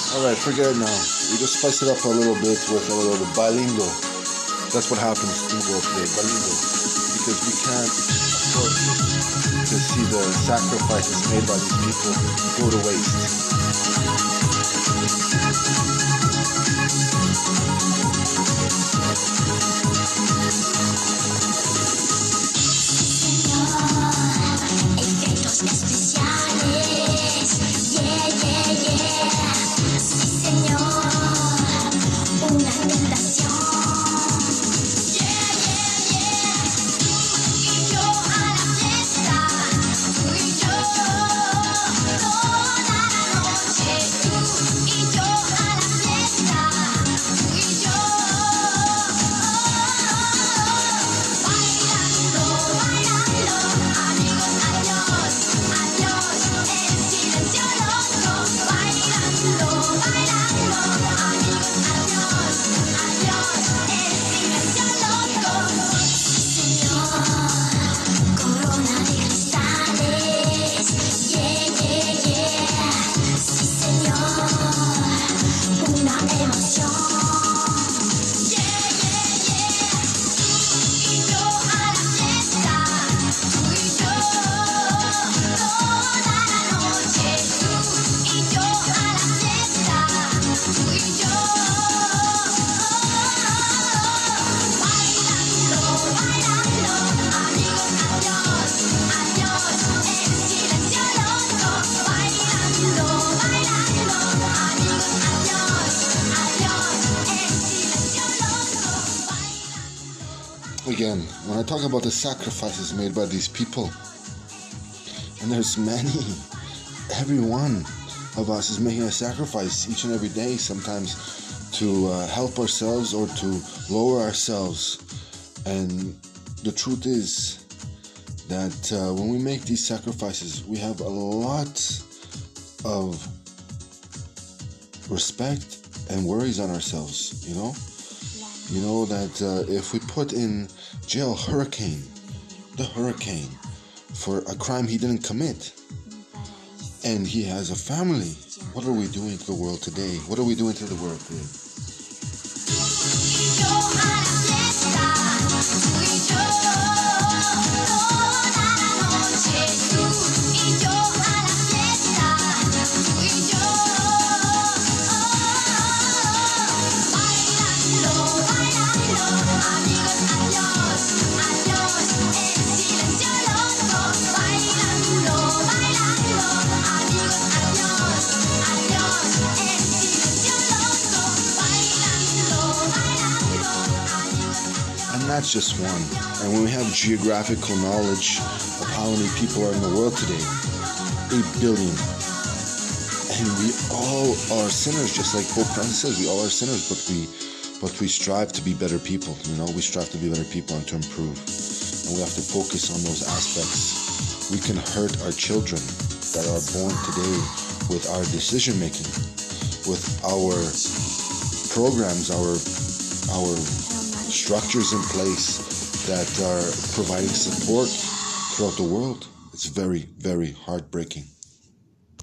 Alright, forget it now. We just spice it up a little bit with a little bit bilingual. That's what happens in the world today, bilingual. Because we can't afford to see the sacrifices made by these people go to waste. Again, when I talk about the sacrifices made by these people, and there's many, every one of us is making a sacrifice each and every day, sometimes to help ourselves or to lower ourselves. And the truth is that when we make these sacrifices, we have a lot of respect and worries on ourselves, you know? You know that if we put in jail the hurricane, for a crime he didn't commit, and he has a family, what are we doing to the world today? What are we doing to the world today? That's just one. And when we have geographical knowledge of how many people are in the world today, 8 billion, and we all are sinners, just like Pope Francis says, we all are sinners, but we strive to be better people. You know, we strive to be better people and to improve, and we have to focus on those aspects. We can hurt our children that are born today with our decision making, with our programs, our structures in place that are providing support throughout the world. It's very, very heartbreaking.